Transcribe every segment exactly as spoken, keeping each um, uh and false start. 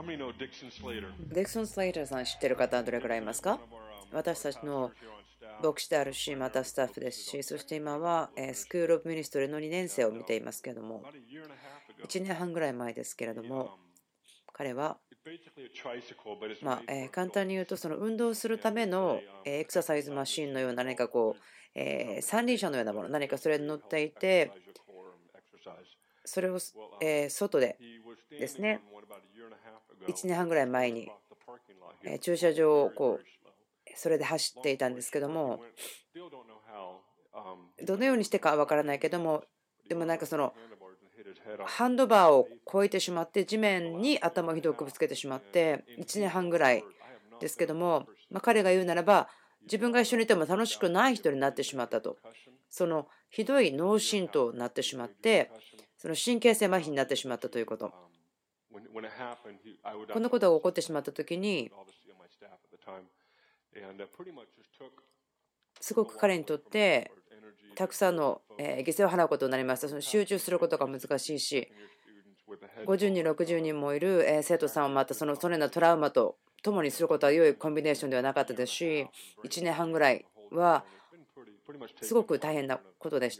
デクソン・スレイターさん知ってる方はどれくらいいますか？私たちの牧師であるし、またスタッフですし、そして今はスクール・オブ・ミニストリーのにねん生を見ていますけれども、いちねんはんぐらい前ですけれども、彼は、まあ、簡単に言うと、その運動するためのエクササイズマシンのような何かこう、えー、三輪車のようなもの、何かそれに乗っていて、それを、えー、外でですね、いちねんはんぐらい前に、えー、駐車場をこう、それで走っていたんですけども、どのようにしてかは分からないけども、でもなんかその、ハンドバーを越えてしまって、地面に頭をひどくぶつけてしまって、いちねんはんぐらいですけども、まあ、彼が言うならば、自分が一緒にいても楽しくない人になってしまったと。そのひどい脳震盪になってしまって、その神経性麻痺になってしまったということ。このことが起こってしまったときに、すごく彼にとってたくさんの犠牲を払うことになりました。その集中することが難しいし、ごじゅうにん、ろくじゅうにんもいる生徒さんをまたそのそのようなトラウマと共にすることは良いコンビネーションではなかったですし、いちねんはんぐらいはすごく大変なことでした。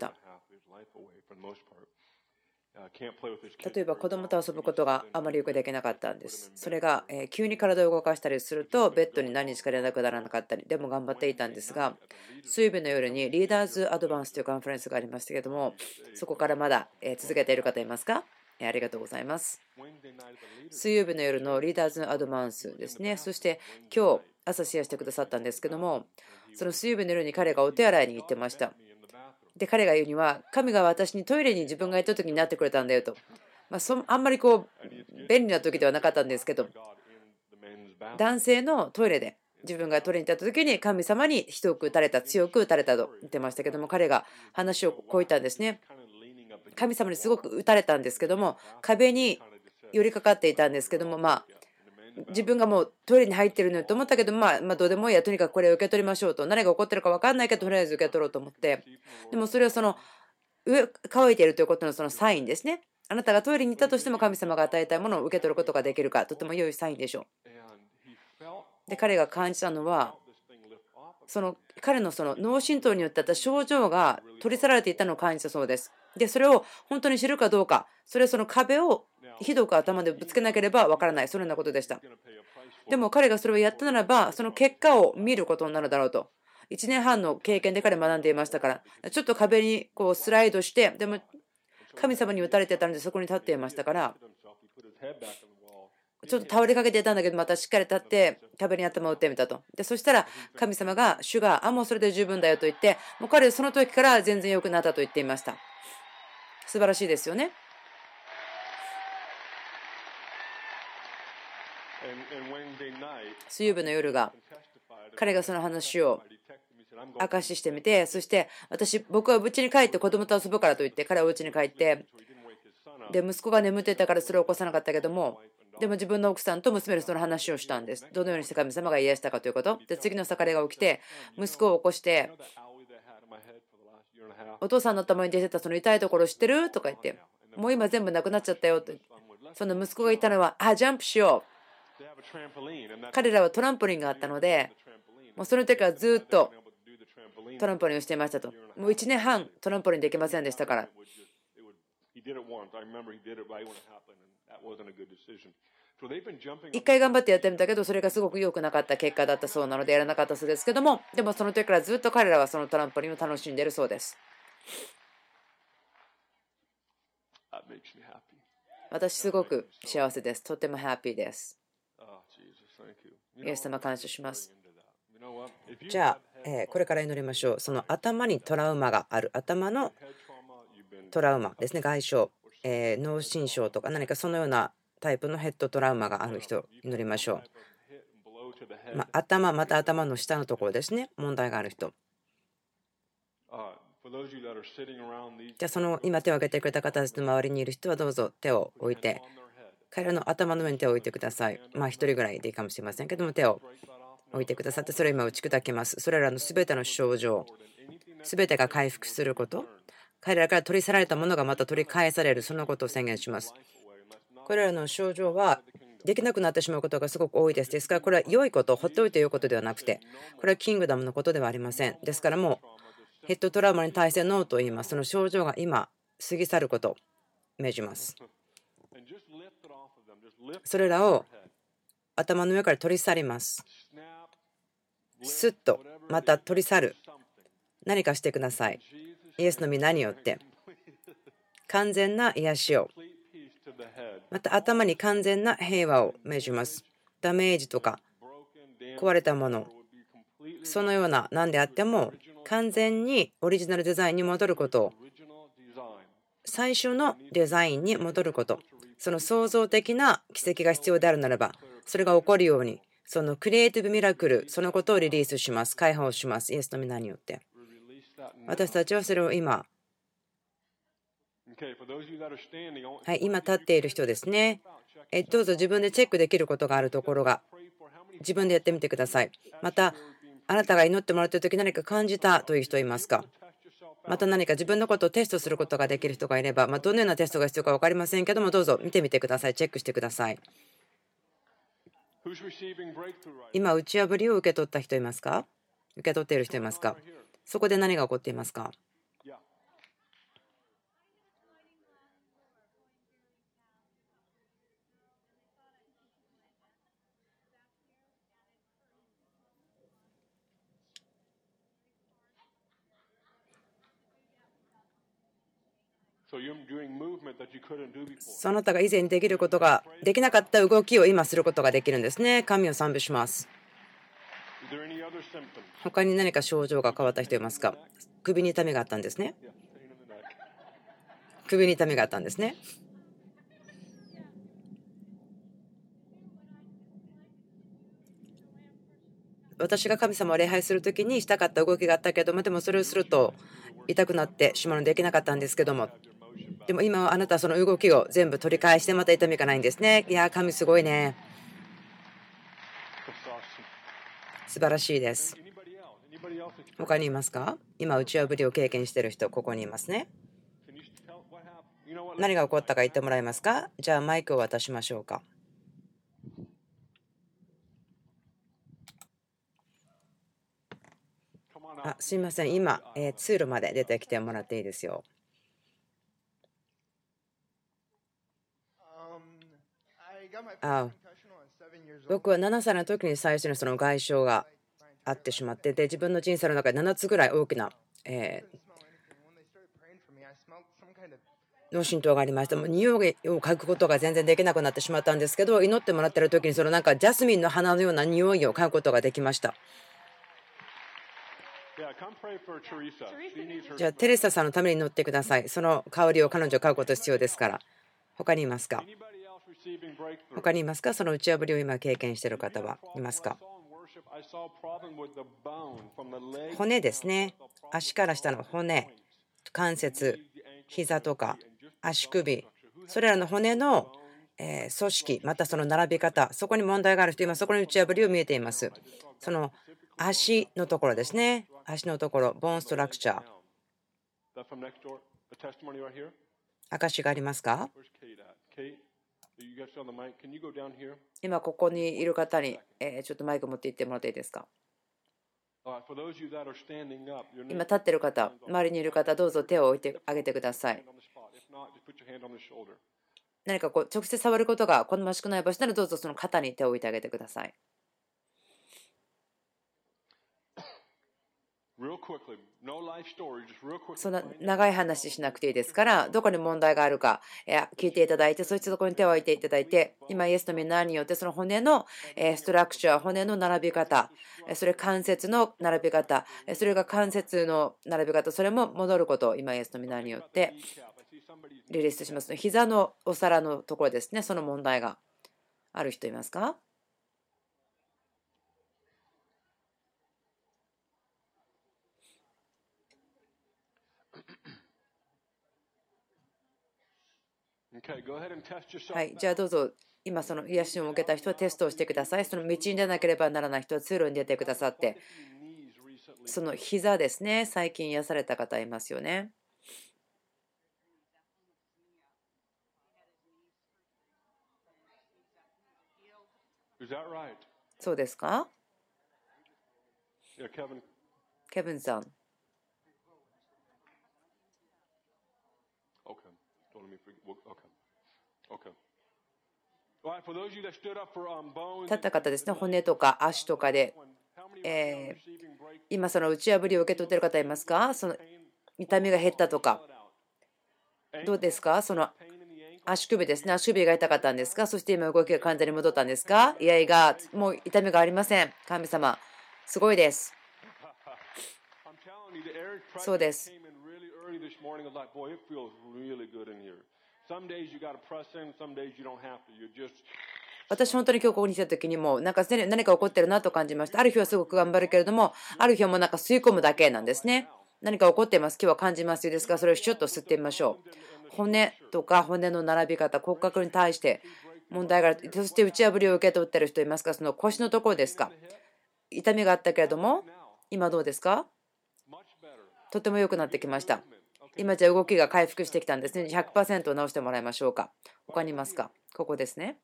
例えば子供と遊ぶことがあまりよくできなかったんです。それが急に体を動かしたりするとベッドに何日か連絡ならなかったり、でも頑張っていたんですが、水曜日の夜にリーダーズアドバンスというカンファレンスがありましたけども、そこからまだ続けている方いますか？ありがとうございます。水曜日の夜のリーダーズアドバンスですね。そして今日朝シェアしてくださったんですけども、その水曜日の夜に彼がお手洗いに行ってました。で、彼が言うには、神が私にトイレに自分が行った時になってくれたんだよと。まあ、そあんまりこう便利な時ではなかったんですけど、男性のトイレで自分がトイレに行った時に神様にひどく打たれた、強く打たれたと言ってましたけども、彼が話をこう言ったんですね。神様にすごく打たれたんですけども、壁に寄りかかっていたんですけども、まあ自分がもうトイレに入ってるのと思ったけど、まあ、まあどうでもいいや、とにかくこれを受け取りましょうと、何が起こってるか分かんないけどとりあえず受け取ろうと思って、でもそれはその上乾いているということのそのサインですね。あなたがトイレに行ったとしても神様が与えたいものを受け取ることができるか、とても良いサインでしょう。で、彼が感じたのは、その彼のその脳震盪によってあった症状が取り去られていたのを感じたそうです。で、それを本当に知るかどうか、それはその壁をひどく頭でぶつけなければわからない、そのようなことでした。でも彼がそれをやったならば、その結果を見ることになるだろうと。いちねんはんの経験で彼学んでいましたから、ちょっと壁にこうスライドして、でも神様に打たれてたのでそこに立っていましたから、ちょっと倒れかけていたんだけど、またしっかり立って壁に頭を打ってみたと。で、そしたら神様が主が、あ、もうそれで十分だよと言って、もう彼その時から全然良くなったと言っていました。素晴らしいですよね。水曜日の夜が彼がその話を証ししてみて、そして私僕は家に帰って子供と遊ぶからと言って彼は家に帰って、で息子が眠ってたからそれを起こさなかったけども、でも自分の奥さんと娘でその話をしたんです。どのようにして神様が癒したかということで、次の朝彼が起きて息子を起こして、お父さんの頭に出てたその痛いところ知ってるとか言って、もう今全部なくなっちゃったよって。その息子が言ったのは、あ、ジャンプしよう。彼らはトランポリンがあったので、もうその時はずっとトランポリンをしていましたと。もういちねんはんトランポリンできませんでしたから。一回頑張ってやってみたけど、それがすごく良くなかった結果だったそうなのでやらなかったそうですけども、でもその時からずっと彼らはそのトランポリンを楽しんでいるそうです。私すごく幸せです。とてもハッピーです。イエス様感謝します。じゃあ、えー、これから祈りましょう。その頭にトラウマがある、頭のトラウマですね、外傷、えー、脳震盪とか何かそのようなタイプのヘッドトラウマがある人、祈りましょう。まあ、頭、また頭の下のところですね、問題がある人。じゃあ、その今手を挙げてくれた方たちの周りにいる人はどうぞ手を置いて、彼らの頭の上に手を置いてください。まあ、一人ぐらいでいいかもしれませんけども、手を置いてくださって、それを今打ち砕きます。それらのすべての症状、すべてが回復すること、彼らから取り去られたものがまた取り返される、そのことを宣言します。これらの症状はできなくなってしまうことがすごく多いです。ですからこれは良いこと、放っておいて良いことではなくて、これはキングダムのことではありません。ですからもうヘッドトラウマに対してノーと言います。その症状が今過ぎ去ることを命じます。それらを頭の上から取り去ります。スッとまた取り去る。何かしてください。イエスの皆によって完全な癒しを、また頭に完全な平和を命じます。ダメージとか壊れたもの、そのような何であっても完全にオリジナルデザインに戻ることを、最初のデザインに戻ること、その創造的な奇跡が必要であるならばそれが起こるように、そのクリエイティブミラクル、そのことをリリースします。解放します。イエスの皆によって。私たちはそれを今、はい、今立っている人ですね。えどうぞ自分でチェックできることがあるところが自分でやってみてください。またあなたが祈ってもらっている時何か感じたという人いますか？また何か自分のことをテストすることができる人がいれば、まあ、どのようなテストが必要か分かりませんけども、どうぞ見てみてください。チェックしてください。今打ち破りを受け取った人いますか？受け取っている人いますか？そこで何が起こっていますか？その他が以前にできることができなかった動きを今することができるんですね。神を賛美します。他に何か症状が変わった人いますか？首に痛みがあったんですね。首に痛みがあったんですね。私が神様を礼拝するときにしたかった動きがあったけども、でもそれをすると痛くなってしまうのでできなかったんですけども、でも今はあなたはその動きを全部取り返してまた痛みがないんですね。いやー、神すごいね。素晴らしいです。他にいますか？今打ち破りを経験している人、ここにいますね。何が起こったか言ってもらえますか？じゃあマイクを渡しましょうか。あ、すいません。今、えー、通路まで出てきてもらっていいですよ。あ、僕はななさいの時に最初にその外傷があってしまって、で自分の人生の中でななつぐらい大きな、えー脳震盪がありました。もう匂いを嗅ぐことが全然できなくなってしまったんですけど、祈ってもらってる時にそのなんかジャスミンの花のような匂いを嗅ぐことができました。じゃあテレサさんのために祈ってください。その香りを彼女嗅ぐこと必要ですから。他にいますか？他にいますか？その打ち破りを今経験している方はいますか？骨ですね。足から下の骨、関節、膝とか足首、それらの骨のえー組織、またその並び方、そこに問題がある人、今そこに打ち破りを見えています。その足のところですね。足のところ、ボーンストラクチャー。証がありますか？今ここにいる方に、えーちょっとマイク持って行ってもらっていいですか？今立っている方、周りにいる方、どうぞ手を置いてあげてください。何かこう直接触ることが好ましくない場所ならどうぞその肩に手を置いてあげてください。そんな長い話しなくていいですから、どこに問題があるか聞いていただいて、そしてそこに手を置いていただいて、今イエスの皆によってその骨のストラクチャー、骨の並び方、それ関節の並び方、それが関節の並び方、それも戻ることを今イエスの皆によってリリースします。膝のお皿のところですね。その問題がある人いますか？はい、じゃあどうぞ。今その癒しを受けた人はテストをしてください。その道に出なければならない人は通路に出てくださって、その膝ですね。最近癒された方いますよね。 そうですか？ケビンさん。立った方ですね、骨とか足とかで、えー、今、その打ち破りを受け取っている方いますか？その痛みが減ったとか、どうですか？その足首ですね、足首が痛かったんですか？そして今、動きが完全に戻ったんですか？いやいや、もう痛みがありません。神様、すごいです。そうです。私、本当に今日ここに来た時にもなんか何か起こってるなと感じました。ある日はすごく頑張るけれども、ある日はもうなんか吸い込むだけなんですね。何か起こっています。今日は感じますですが、それをシュッと吸ってみましょう。骨とか骨の並び方、骨格に対して問題がある。そして打ち破りを受け取っている人いますか？その腰のところですか？痛みがあったけれども、今どうですか？とても良くなってきました。今じゃ動きが回復してきたんですね。ひゃくパーセント 直してもらいましょうか。他にいますか？ここですね。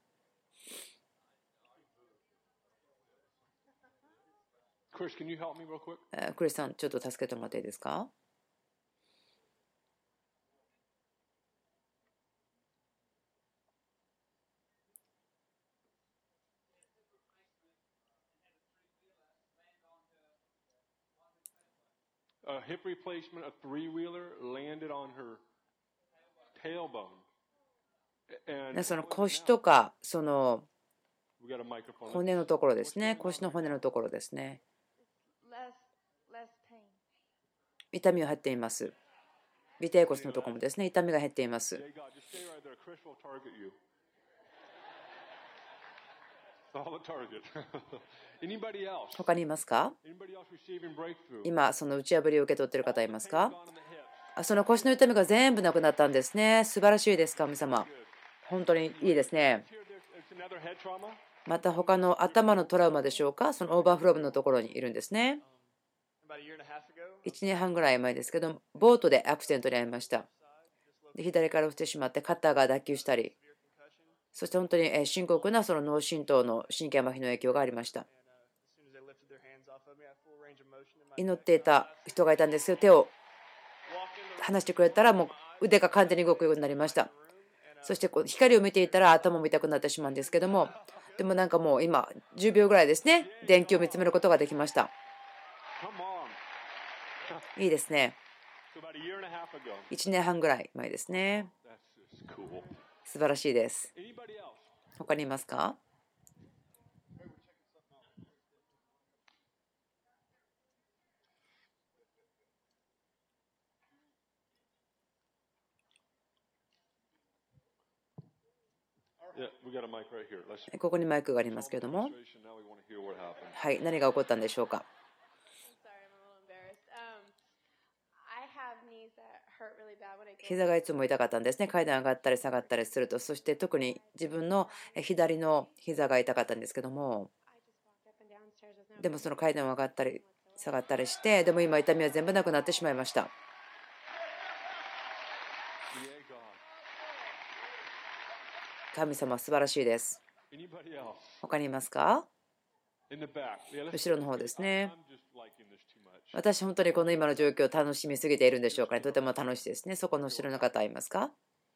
クリスさん、ちょっと助けてもらっていいですか？その腰とかその骨のところですね。腰の骨のところですね。痛みが減っています。尾てい骨のところもですね、痛みが減っています。他にいますか？今、その打ち破りを受け取っている方いますか？その腰の痛みが全部なくなったんですね。素晴らしいです、神様。本当にいいですね。また他の頭のトラウマでしょうか？そのオーバーフローブのところにいるんですね。いちねんはんぐらい前ですけど、ボートでアクシデントに遭いました。で左から落ちてしまって肩が脱臼したり、そして本当に深刻なその脳震盪の神経麻痺の影響がありました。祈っていた人がいたんですけど、手を離してくれたらもう腕が完全に動くようになりました。そしてこう光を見ていたら頭も痛くなってしまうんですけども、でもなんかもう今じゅうびょうぐらいですね、電気を見つめることができました。いいですね。いちねんはんぐらい前ですね。素晴らしいです。他にいますか？ここにマイクがありますけれども、はい、何が起こったんでしょうか？膝がいつも痛かったんですね。階段上がったり下がったりすると、そして特に自分の左の膝が痛かったんですけども、でもその階段を上がったり下がったりして、でも今痛みは全部なくなってしまいました。神様素晴らしいです。他にいますか？後ろの方ですね。私、本当にこの今の状況を楽しみすぎているんでしょうかね。とても楽しいですね。そこの後ろの方いますか？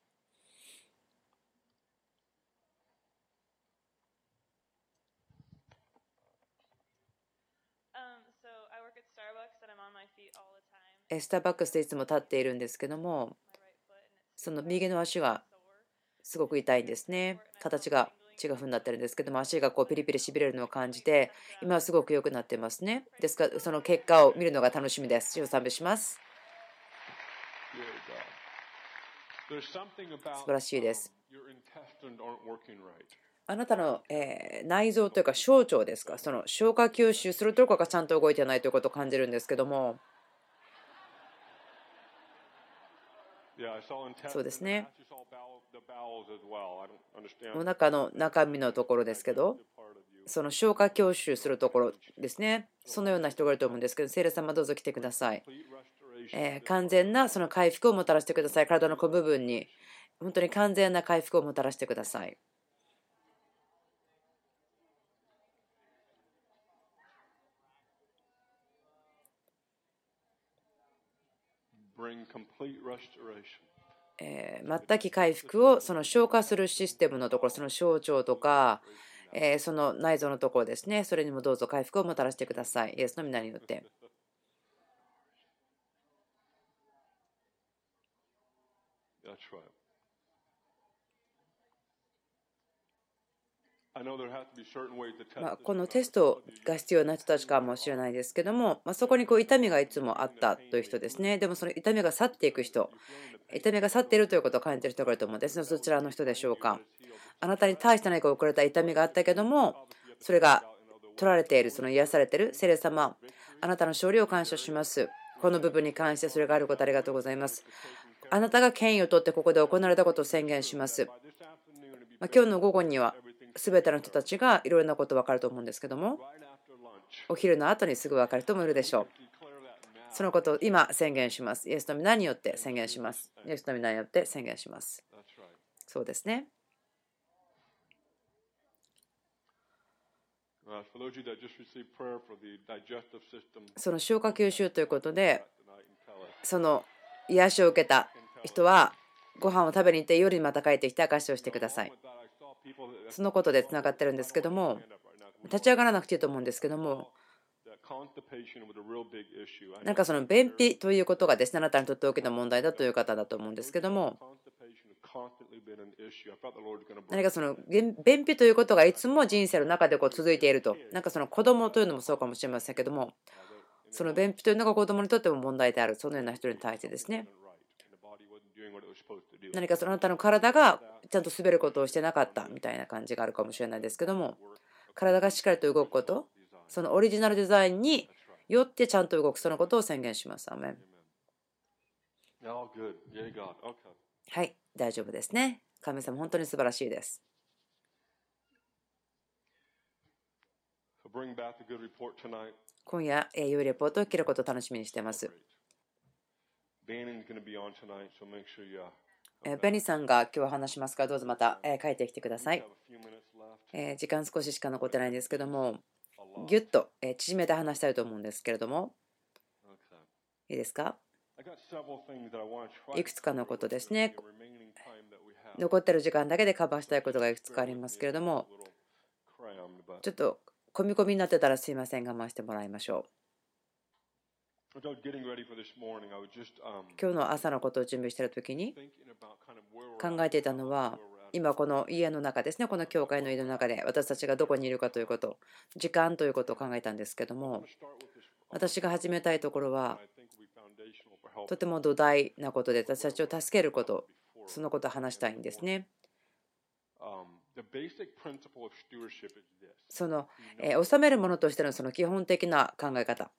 スターバックスでいつも立っているんですけども、その右の足がすごく痛いんですね。形が違う風になってるんですけども、足がこうピリピリしびれるのを感じて、今はすごく良くなってますね。ですから、その結果を見るのが楽しみです。主を賛美します。素晴らしいです。あなたの内臓というか小腸ですか、その消化吸収するところがちゃんと動いてないということを感じるんですけども、そうですね。お腹の中身のところですけど、その消化吸収するところですね。そのような人がいると思うんですけど、聖霊様どうぞ来てください。えー、完全なその回復をもたらしてください。体の小部分に本当に完全な回復をもたらしてください。 えー、全く回復をその消化するシステムのところ、その小腸とか、えー、その内臓のところですね、それにもどうぞ回復をもたらしてください。イエスの皆によって。まあ、このテストが必要な人たちかもしれないですけども、まあ、そこにこう痛みがいつもあったという人ですね。でもその痛みが去っていく人、痛みが去っているということを感じている人がいると思うんですね。そちらの人でしょうか。あなたに対して何か遅れた痛みがあったけども、それが取られている、その癒されている聖霊様、あなたの勝利を感謝します。この部分に関してそれがあることありがとうございます。あなたが権威を取ってここで行われたことを宣言します。まあ、今日の午後には全ての人たちがいろいろなこと分かると思うんですけども、お昼の後にすぐ分かる人もいるでしょう。そのことを今宣言します。イエスの皆によって宣言します。イエスの皆によって宣言します。そうですね。その消化吸収ということで、その癒しを受けた人はご飯を食べに行って夜にまた帰ってきて証しをしてください。そのことでつながってるんですけども、立ち上がらなくていいと思うんですけども、なんかその便秘ということがですね、あなたにとって大きな問題だという方だと思うんですけども、何かその便秘ということがいつも人生の中でこう続いていると、なんかその子供というのもそうかもしれませんけども、その便秘というのが子供にとっても問題である、そのような人に対してですね、何かそのあなたの体がちゃんと滑ることをしてなかったみたいな感じがあるかもしれないですけども、体がしっかりと動くこと、そのオリジナルデザインによってちゃんと動く、そのことを宣言します。アーメン。はい、大丈夫ですね。神様、本当に素晴らしいです。今夜、良いレポートを聞けることを楽しみにしています。ベニーさんが今日話しますから、どうぞまた帰ってきてください。時間少ししか残ってないんですけども、ぎゅっと縮めて話したいと思うんですけれども、いいですか？いくつかのことですね。残っている時間だけでカバーしたいことがいくつかありますけれども、ちょっと込み込みになってたらすいません、我慢してもらいましょう。今日の朝のことを準備しているときに考えていたのは、今この家の中ですね、この教会の家の中で私たちがどこにいるかということ、時間ということを考えたんですけども、私が始めたいところはとても土台なことで、私たちを助けること、そのことを話したいんですね。その治めるものとしてのその基本的な考え方、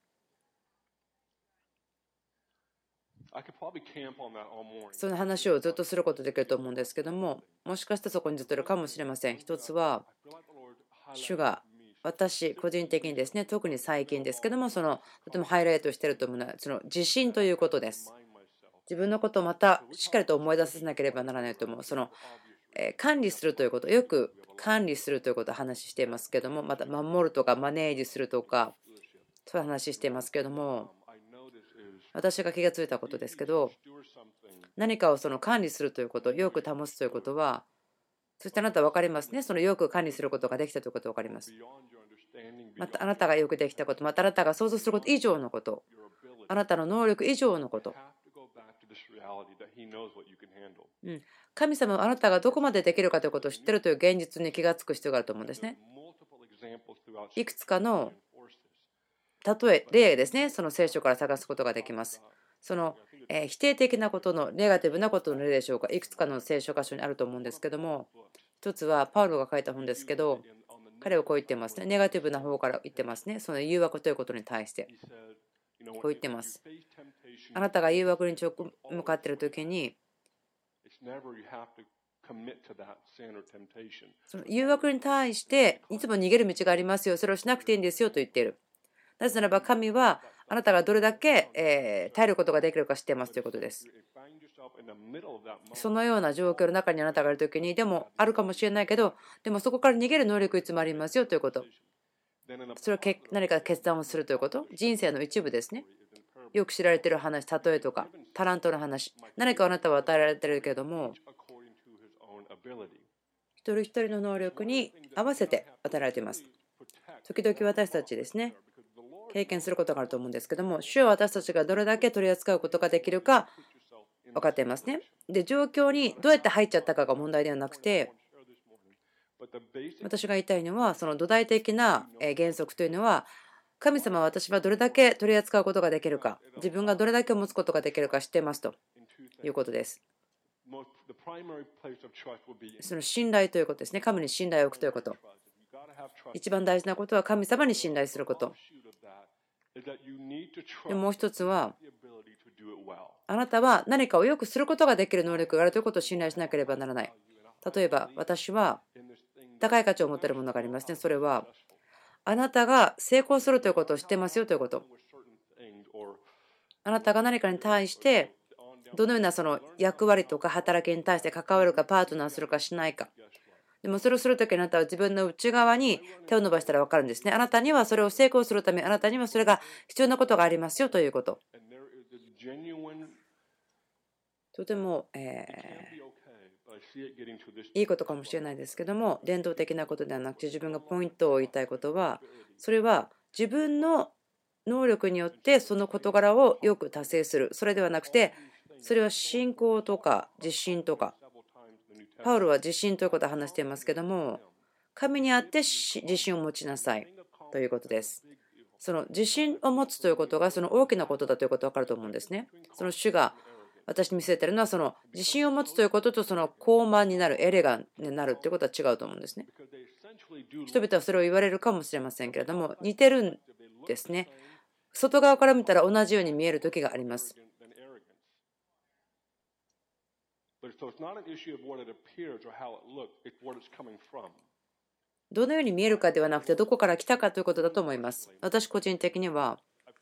その話をずっとすることできると思うんですけども、もしかしたらそこにずっといるかもしれません。一つは、主が私個人的にですね、特に最近ですけども、そのとてもハイライトしていると思うのは、その自信ということです。自分のことをまたしっかりと思い出させなければならないと思う。その管理するということ、よく管理するということを話していますけども、また守るとかマネージするとか、そういう話していますけども、私が気がついたことですけど、何かをその管理するということ、よく保つということは、そしてあなたは分かりますね。そのよく管理することができたということが分かります。またあなたがよくできたこと、またあなたが想像すること以上のこと、あなたの能力以上のこと。うん、神様はあなたがどこまでできるかということを知っているという現実に気がつく必要があると思うんですね。いくつかの例え、例ですね、その聖書から探すことができます。その否定的なことのネガティブなことの例でしょうか。いくつかの聖書箇所にあると思うんですけども、一つはパウロが書いた本ですけど、彼はこう言ってますね。ネガティブな方から言ってますね。その誘惑ということに対して。こう言ってます。あなたが誘惑に向かっているときに、その誘惑に対していつも逃げる道がありますよ。それをしなくていいんですよと言っている。なぜならば神はあなたがどれだけ耐えることができるか知っていますということです。そのような状況の中にあなたがいるときに、でもあるかもしれないけど、でもそこから逃げる能力いつもありますよということ。それは何か決断をするということ。人生の一部ですね。 よく知られている話、例えとか、タラントの話、何かあなたは与えられているけれども、一人一人の能力に合わせて与えられています。時々私たちですね、経験することがあると思うんですけども、主は私たちがどれだけ取り扱うことができるか分かっていますね。で、状況にどうやって入っちゃったかが問題ではなくて、私が言いたいのは、その土台的な原則というのは、神様は私はどれだけ取り扱うことができるか、自分がどれだけ持つことができるか知っていますということです。その信頼ということですね。神に信頼を置くということ。一番大事なことは神様に信頼すること。でもう一つは、あなたは何かをよくすることができる能力があるということを信頼しなければならない。例えば、私は高い価値を持っているものがありますね。それは、あなたが成功するということを知ってますよということ。あなたが何かに対して、どのようなその役割とか働きに対して関わるか、パートナーするかしないか。でもそれをするときにあなたは自分の内側に手を伸ばしたら分かるんですね。あなたにはそれを成功するため、あなたにはそれが必要なことがありますよということ。とても、えー、いいことかもしれないですけども、伝統的なことではなくて、自分がポイントを言いたいことは、それは自分の能力によってその事柄をよく達成する。それではなくて、それは信仰とか自信とか、パウロは自信ということを話していますけども、神にあって自信を持ちなさいということです。その自信を持つということがその大きなことだということが分かると思うんですね。その主が私に見せているのは、その自信を持つということとその高慢になる、エレガンになるということは違うと思うんですね。人々はそれを言われるかもしれませんけれども、似てるんですね。外側から見たら同じように見える時があります。どのように見えるかではなくて、どこから来たかということだと思います。私個人的には、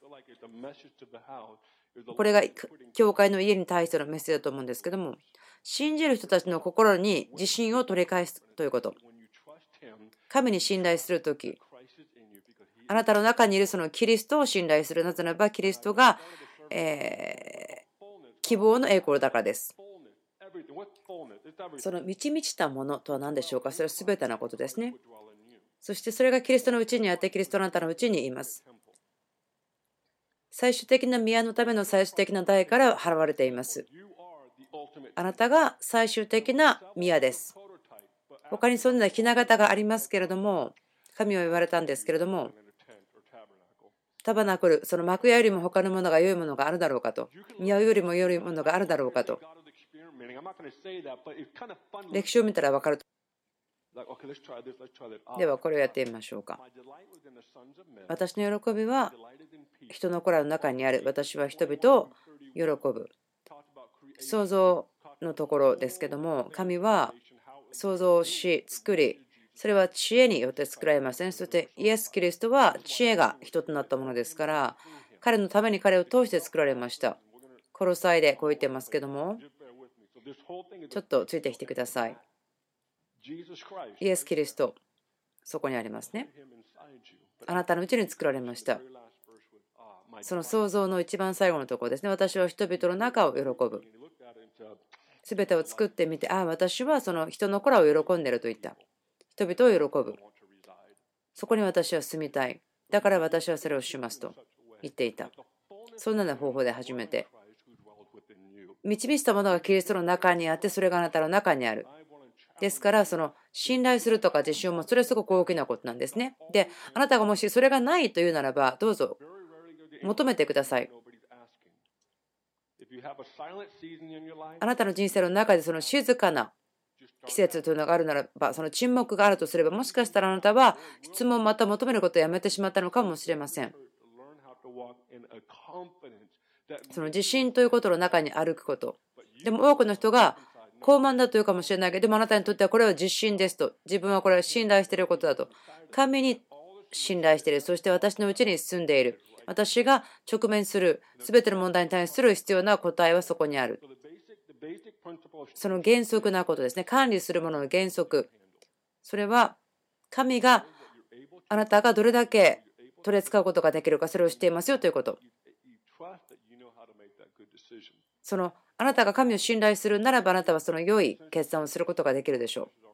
これが教会の家に対してのメッセージだと思うんですけども、信じる人たちの心に自信を取り返すということ。神に信頼するとき、あなたの中にいるそのキリストを信頼する。なぜならばキリストが、えー、希望の栄光だからです。その満ち満ちたものとは何でしょうか。それは全てのことですね。そしてそれがキリストのうちにあって、キリストのあなたのうちにいます。最終的な宮のための最終的な代から払われています。あなたが最終的な宮です。他にそんなひな形がありますけれども、神は言われたんですけれども、タバナクル、その幕屋よりも他のものが良いものがあるだろうかと、宮よりも良いものがあるだろうかと、歴史を見たら分かると。ではこれをやってみましょうか。私の喜びは人の子らの中にある。私は人々を喜ぶ。創造のところですけども、神は創造し作り、それは知恵によって作られません。そしてイエス・キリストは知恵が人となったものですから、彼のために彼を通して作られました。コロサイでこう言ってますけども、ちょっとついてきてください。イエス・キリスト、そこにありますね。あなたのうちに作られました。その創造の一番最後のところですね。私は人々の中を喜ぶ。すべてを作ってみて、ああ、私はその人の子らを喜んでいると言った。人々を喜ぶ。そこに私は住みたい。だから私はそれをしますと言っていた。そんな方法で初めて。導いたものがキリストの中にあって、それがあなたの中にある。ですから、その信頼するとか自信を持つ、それはすごく大きなことなんですね。で、あなたがもしそれがないというならば、どうぞ求めてください。あなたの人生の中でその静かな季節というのがあるならば、その沈黙があるとすれば、もしかしたらあなたは質問をまた求めることをやめてしまったのかもしれません。その自信ということの中に歩くこと。でも多くの人が高慢だというかもしれないけど、でもあなたにとってはこれは自信ですと。自分はこれは信頼していることだと。神に信頼している。そして私のうちに住んでいる。私が直面する全ての問題に対する必要な答えはそこにある。その原則なことですね。管理するものの原則。それは神があなたがどれだけ取り扱うことができるか、それを知っていますよということ。 そのあなたが神を信頼するならば、あなたはその良い決断をすることができるでしょう。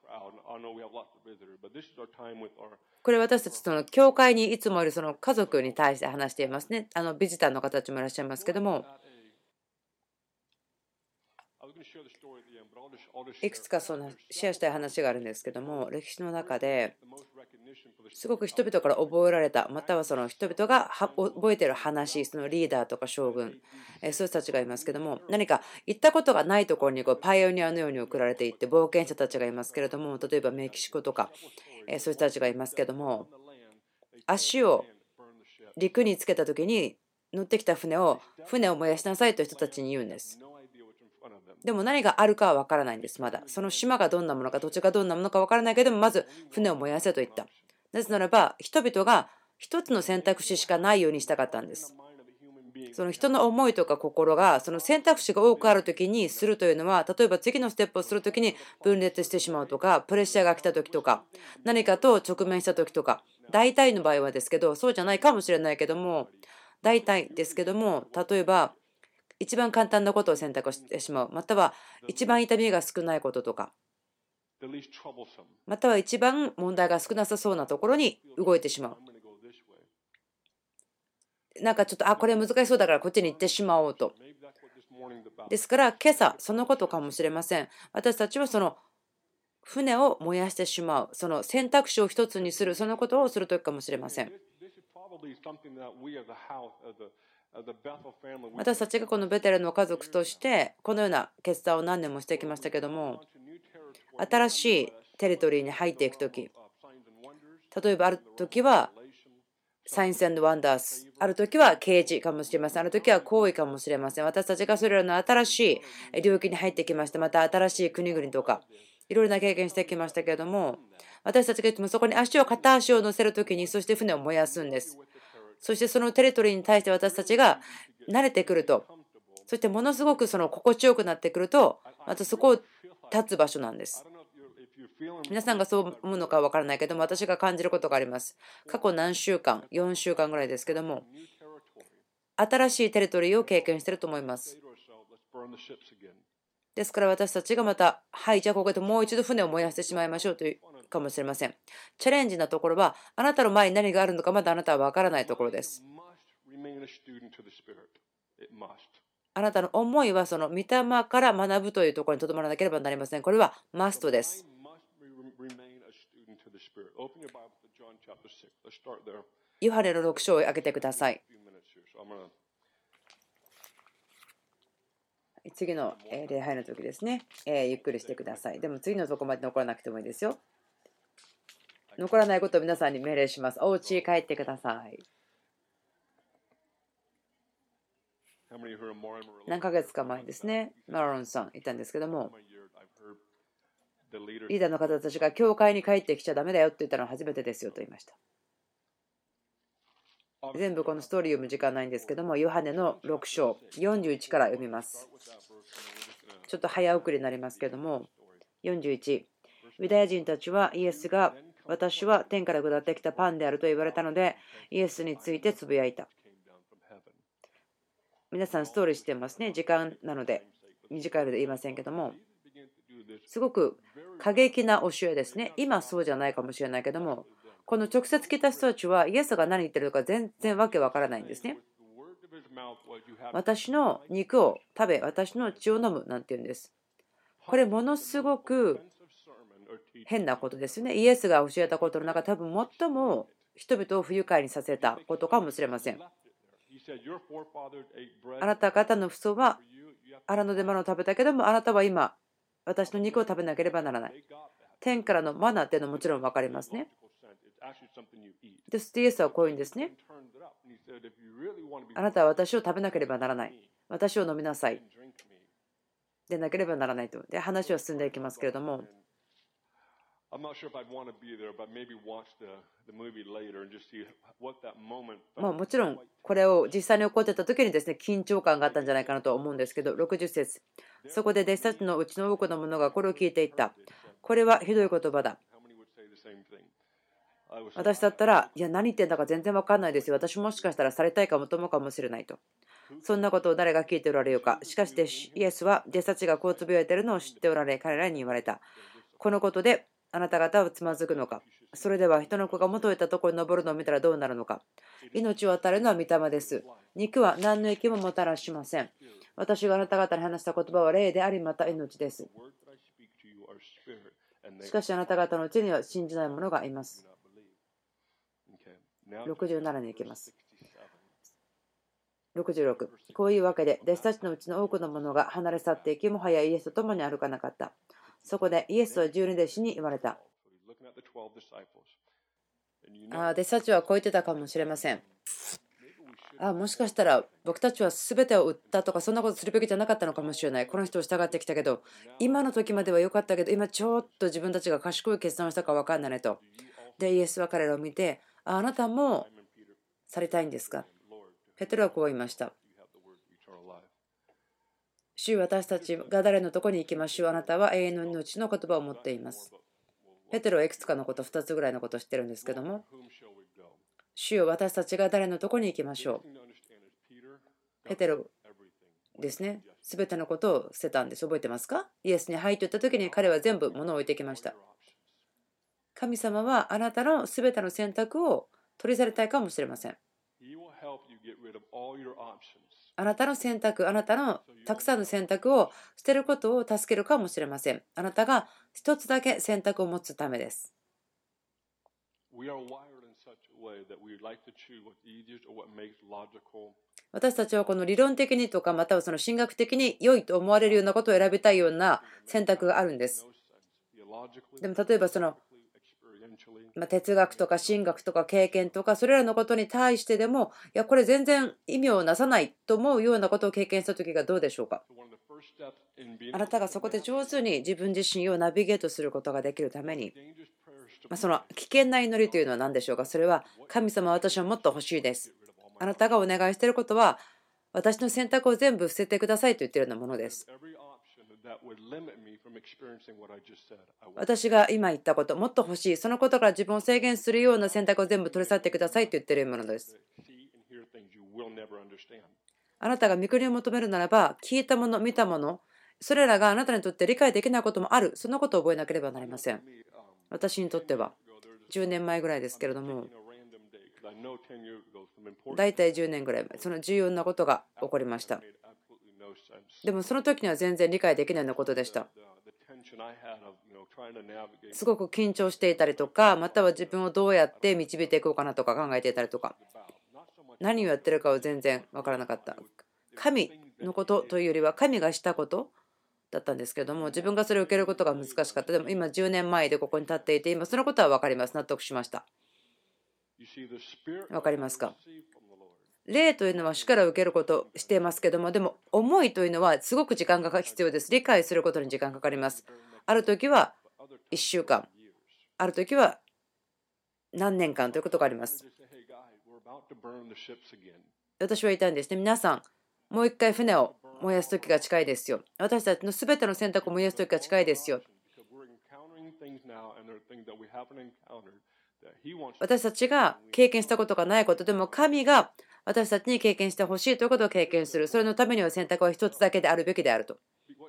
これ私たちその教会にいつもいるその家族に対して話していますね。あのビジターの方たちもいらっしゃいますけども、いくつかそのシェアしたい話があるんですけども、歴史の中ですごく人々から覚えられた、またはその人々が覚えている話、そのリーダーとか将軍、そういう人たちがいますけども、何か行ったことがないところにこうパイオニアのように送られていって冒険者たちがいますけれども、例えばメキシコとかそういう人たちがいますけども、足を陸につけた時に乗ってきた船を船を燃やしなさいと人たちに言うんです。でも何があるかは分からないんです。まだその島がどんなものか土地がどんなものか分からないけども、まず船を燃やせと言った。なぜならば人々が一つの選択肢しかないようにしたかったんです。その人の思いとか心がその選択肢が多くある時にするというのは、例えば次のステップをする時に分裂してしまうとか、プレッシャーが来た時とか、何かと直面した時とか、大体の場合はですけど、そうじゃないかもしれないけども、大体ですけども、例えば一番簡単なことを選択してしまう、または一番痛みが少ないこととか、または一番問題が少なさそうなところに動いてしまう。なんかちょっとあこれ難しそうだからこっちに行ってしまおうと。ですから今朝そのことかもしれません。私たちはその船を燃やしてしまう、その選択肢を一つにする、そのことをするときかもしれません。私たちがこのベテルの家族としてこのような決断を何年もしてきましたけども、新しいテリトリーに入っていくとき、例えばある時はサインス&ワンダース、ある時は啓示かもしれません、ある時は行為かもしれません。私たちがそれらの新しい領域に入ってきました。また新しい国々とかいろいろな経験してきましたけれども、私たちがいつもそこに足を片足を乗せるときに、そして船を燃やすんです。そしてそのテリトリーに対して私たちが慣れてくると、そしてものすごくその心地よくなってくると、またそこを立つ場所なんです。皆さんがそう思うのかは分からないけども、私が感じることがあります。過去何週間、よんしゅうかんぐらいですけども、新しいテリトリーを経験していると思います。ですから私たちがまた、はい、じゃあここでもう一度船を燃やしてしまいましょうというかもしれません。チャレンジなところは、あなたの前に何があるのかまだあなたは分からないところです。あなたの思いはその御霊から学ぶというところにとどまらなければなりません。これはマストです。ヨハネのろく章を開けてください。次の礼拝の時ですね、えー、ゆっくりしてください。でも次のとこまで残らなくてもいいですよ。残らないことを皆さんに命令します。お家へ帰ってください。何ヶ月か前ですね、マロンさんいたんですけども、リーダーの方たちが教会に帰ってきちゃダメだよって言ったのは初めてですよと言いました。全部このストーリー読む時間ないんですけども、ヨハネのろく章よんじゅういちから読みます。ちょっと早送りになりますけども、よんじゅういち、ユダヤ人たちはイエスが私は天から下ってきたパンであると言われたので、イエスについてつぶやいた。皆さんストーリーしてますね。時間なので短いので言いませんけども、すごく過激な教えですね。今そうじゃないかもしれないけども、この直接聞いた人たちはイエスが何言ってるのか全然わけわからないんですね。私の肉を食べ、私の血を飲むなんて言うんです。これものすごく変なことですよね。イエスが教えたことの中、多分最も人々を不愉快にさせたことかもしれません。あなた方の父祖は荒野でマナを食べたけども、あなたは今私の肉を食べなければならない。天からのマナっていうのはもちろん分かりますね。で、イエスはこういうんですね。あなたは私を食べなければならない。私を飲みなさい。でなければならないと。で、話は進んでいきますけれども。まあもちろんこれを実際に起こってた時にですね、緊張感があったんじゃないかなと思うんですけど、ろくじゅっ節、そこで弟子たちのうちの多くの者がこれを聞いていった。これはひどい言葉だ。 私だったら、いや、何言ってんだか全然わかんないですよ。私もしかしたらされたいかもと思うかもしれないと。そんなことを誰が聞いておられようか。しかし、イエスは弟子たちがこうつぶやいているのを知っておられ、彼らに言われた。このことであなた方はつまずくのか。それでは人の子が元いたところに登るのを見たらどうなるのか。命を与えるのは御霊です。肉は何の益ももたらしません。私があなた方に話した言葉は霊であり、また命です。しかしあなた方のうちには信じない者がいます。ろくじゅうななに行きます。ろくじゅうろく。こういうわけで、弟子たちのうちの多くの者が離れ去っていき、もはやイエスと共に歩かなかった。そこでイエスは十二弟子に言われた。あ弟子たちはこう言ってたかもしれません。あもしかしたら僕たちは全てを売ったとかそんなことするべきじゃなかったのかもしれない。この人を従ってきたけど、今の時までは良かったけど、今ちょっと自分たちが賢い決断をしたか分かんないねと。で、イエスは彼らを見て、ああなたもされたいんですか。ペテロはこう言いました。主、私たちが誰のとこに行きましょう。あなたは永遠の命の言葉を持っています。ペテロはいくつかのこと、ふたつぐらいのことを知ってるんですけども、主よ、私たちが誰のとこに行きましょう。ペテロですね。すべてのことを捨てたんです。覚えてますか。イエスに入っていった時に彼は全部物を置いてきました。神様はあなたのすべての選択を取り去りたいかもしれません。あなたの選択、あなたのたくさんの選択を捨てることを助けるかもしれません。あなたが一つだけ選択を持つためです。私たちはこの理論的にとかまたはその神学的に良いと思われるようなことを選びたいような選択があるんです。でも例えばそのま哲学とか神学とか経験とかそれらのことに対してでもいやこれ全然意味をなさないと思うようなことを経験した時がどうでしょうか。あなたがそこで上手に自分自身をナビゲートすることができるために、その危険な祈りというのは何でしょうか。それは神様私はもっと欲しいです。あなたがお願いしていることは私の選択を全部捨ててくださいと言っているようなものです。私が今言ったこと、もっと欲しい、そのことから自分を制限するような選択を全部取り去ってくださいと言っているものです。あなたが御国を求めるならば、聞いたもの、見たもの、それらがあなたにとって理解できないこともある、そのことを覚えなければなりません。私にとってはじゅうねんまえぐらいですけれども、だいたいじゅうねんぐらい前、その重要なことが起こりました。でもその時には全然理解できないようなことでした。すごく緊張していたりとか、または自分をどうやって導いていこうかなとか考えていたりとか、何をやってるかを全然分からなかった。神のことというよりは神がしたことだったんですけれども、自分がそれを受けることが難しかった。でも今じゅうねんまえでここに立っていて、今そのことは分かります。納得しました。分かりますか。霊というのは主から受けることをしていますけども、でも思いというのはすごく時間が必要です。理解することに時間かかります。ある時はいっしゅうかん、ある時は何年間ということがあります。私は言いたいんですね。皆さん、もう一回船を燃やす時が近いですよ。私たちのすべての選択を燃やす時が近いですよ。私たちが経験したことがないことでも神が私たちに経験してほしいということを経験する。それのためには選択は一つだけであるべきであると。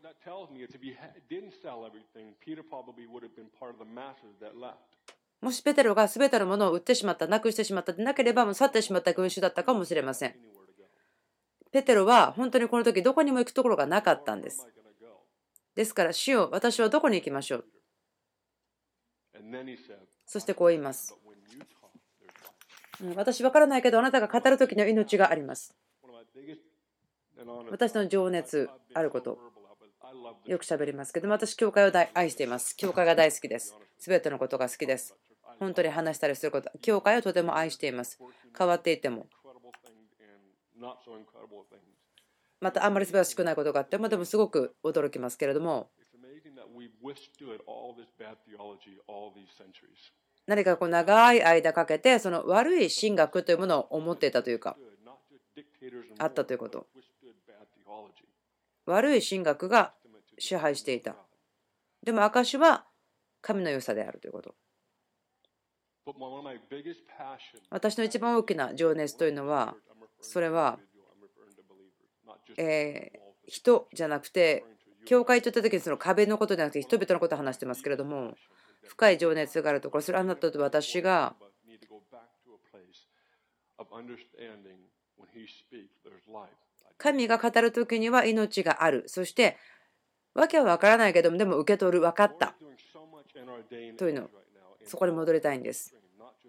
もしペテロが全てのものを売ってしまった、なくしてしまったでなければ、もう去ってしまった群衆だったかもしれません。ペテロは本当にこの時どこにも行くところがなかったんです。ですから、主よ、私はどこに行きましょう。そしてこう言います。私分からないけど、あなたが語る時の命があります。私の情熱あること、よく喋りますけども、私、教会を愛しています。教会が大好きです。すべてのことが好きです。本当に話したりすること、教会をとても愛しています。変わっていても。またあんまり素晴らしくないことがあっても、でもすごく驚きますけれども、何かこう長い間かけてその悪い神学というものを思っていたというか、あったということ。悪い神学が支配していた。でも証は神の良さであるということ。 私の一番大きな情熱というのは、それは、えー、人じゃなくて、教会といった時にその壁のことじゃなくて人々のことを話してますけれども、深い情熱があるところ、それはあなたと私が神が語る時には命がある。そしてわけは分からないけども、でも受け取る、分かったというの、そこに戻りたいんです。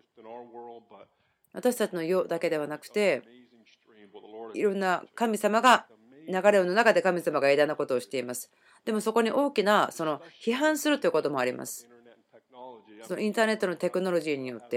私たちの世だけではなくて、いろんな神様が流れの中で神様が偉大なことをしています。でもそこに大きなその批判するということもあります。そのインターネットのテクノロジーによって。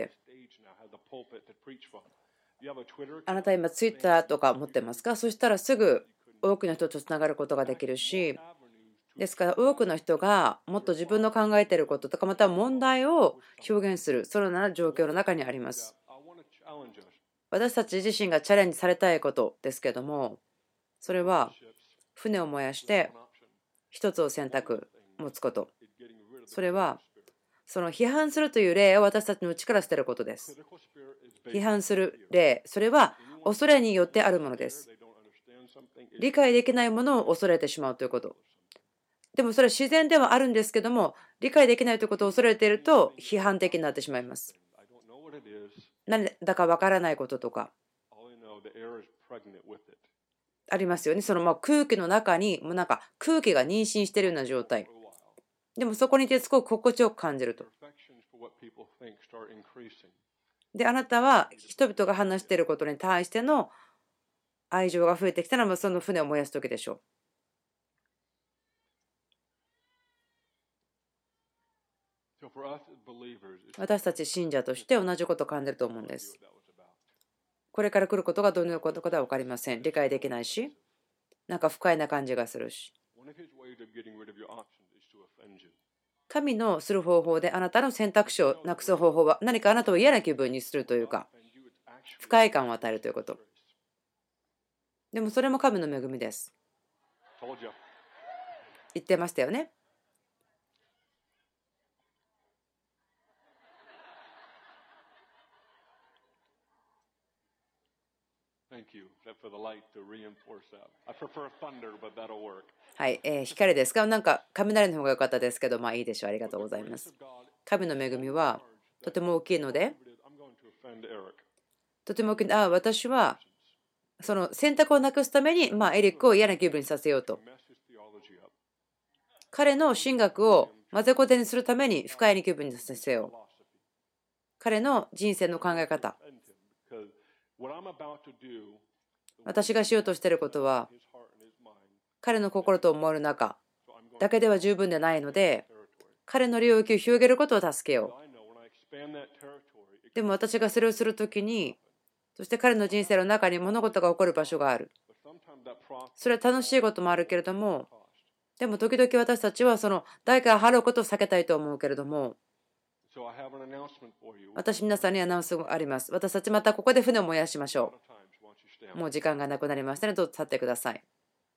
あなた今ツイッターとか持ってますか？そしたらすぐ多くの人とつながることができるし、ですから多くの人がもっと自分の考えていることとかまた問題を表現する、そのような状況の中にあります。私たち自身がチャレンジされたいことですけども、それは船を燃やして一つを選択持つこと。それはその批判するという例を私たちの内から捨てることです。批判する例、それは恐れによってあるものです。理解できないものを恐れてしまうということ。でもそれは自然ではあるんですけども、理解できないということを恐れていると批判的になってしまいます。何だかわからないこととかありますよね。そのまあ空気の中にもうなんか空気が妊娠しているような状態。でもそこにいてすごく心地よく感じると。で、あなたは人々が話していることに対しての愛情が増えてきたら、その船を燃やす時でしょう。私たち信者として同じことを感じると思うんです。これから来ることがどのようなことかは分かりません。理解できないし、なんか不快な感じがするし。神のする方法であなたの選択肢をなくす方法は何かあなたを嫌な気分にするというか、不快感を与えるということ。でもそれも神の恵みです。言ってましたよね。はい、えー、光ですか？なんか雷の方が良かったですけど、まあいいでしょう。ありがとうございます。神の恵みはとても大きいので、とても大きい。ああ、私はその選択をなくすために、まあ、エリックを嫌な気分にさせようと。彼の神学を混ぜこぜにするために不快な気分にさせよう。彼の人生の考え方。私がしようとしていることは、彼の心と思える中だけでは十分でないので、彼の領域を広げることを助けよう。でも私がそれをするときに、そして彼の人生の中に物事が起こる場所がある。それは楽しいこともあるけれども、でも時々私たちはその代価を払うことを避けたいと思うけれども、私皆さんにアナウンスがあります。私たちまたここで船を燃やしましょう。もう時間がなくなりましたので、どうぞ立ってください。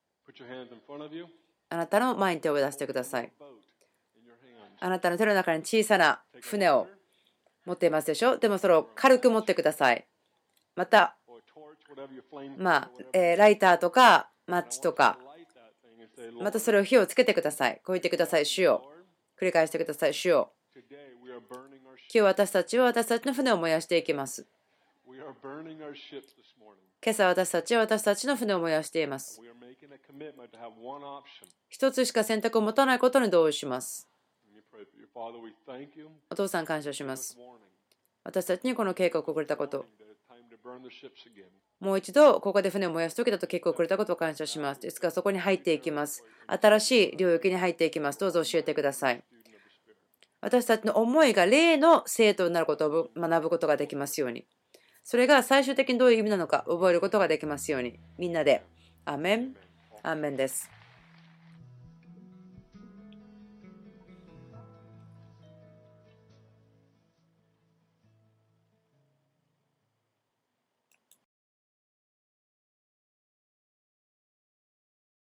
あなたの前に手を出してください。あなたの手の中に小さな船を持っていますでしょ。でもそれを軽く持ってください。また、まあ、えー、ライターとかマッチとか、またそれを火をつけてください。こう言ってください。主よ。繰り返してください。主よ。今日私たちは私たちの船を燃やしていきます。今朝私たちは私たちの船を燃やしています。一つしか選択を持たないことに同意します。お父さん感謝します。私たちにこの計画をくれたこと。もう一度ここで船を燃やす時だと計画をくれたことを感謝します。ですからそこに入っていきます。新しい領域に入っていきます。どうぞ教えてください。私たちの思いが霊の生徒になることを学ぶことができますように。それが最終的にどういう意味なのか覚えることができますように。みんなでアーメン。アーメンです。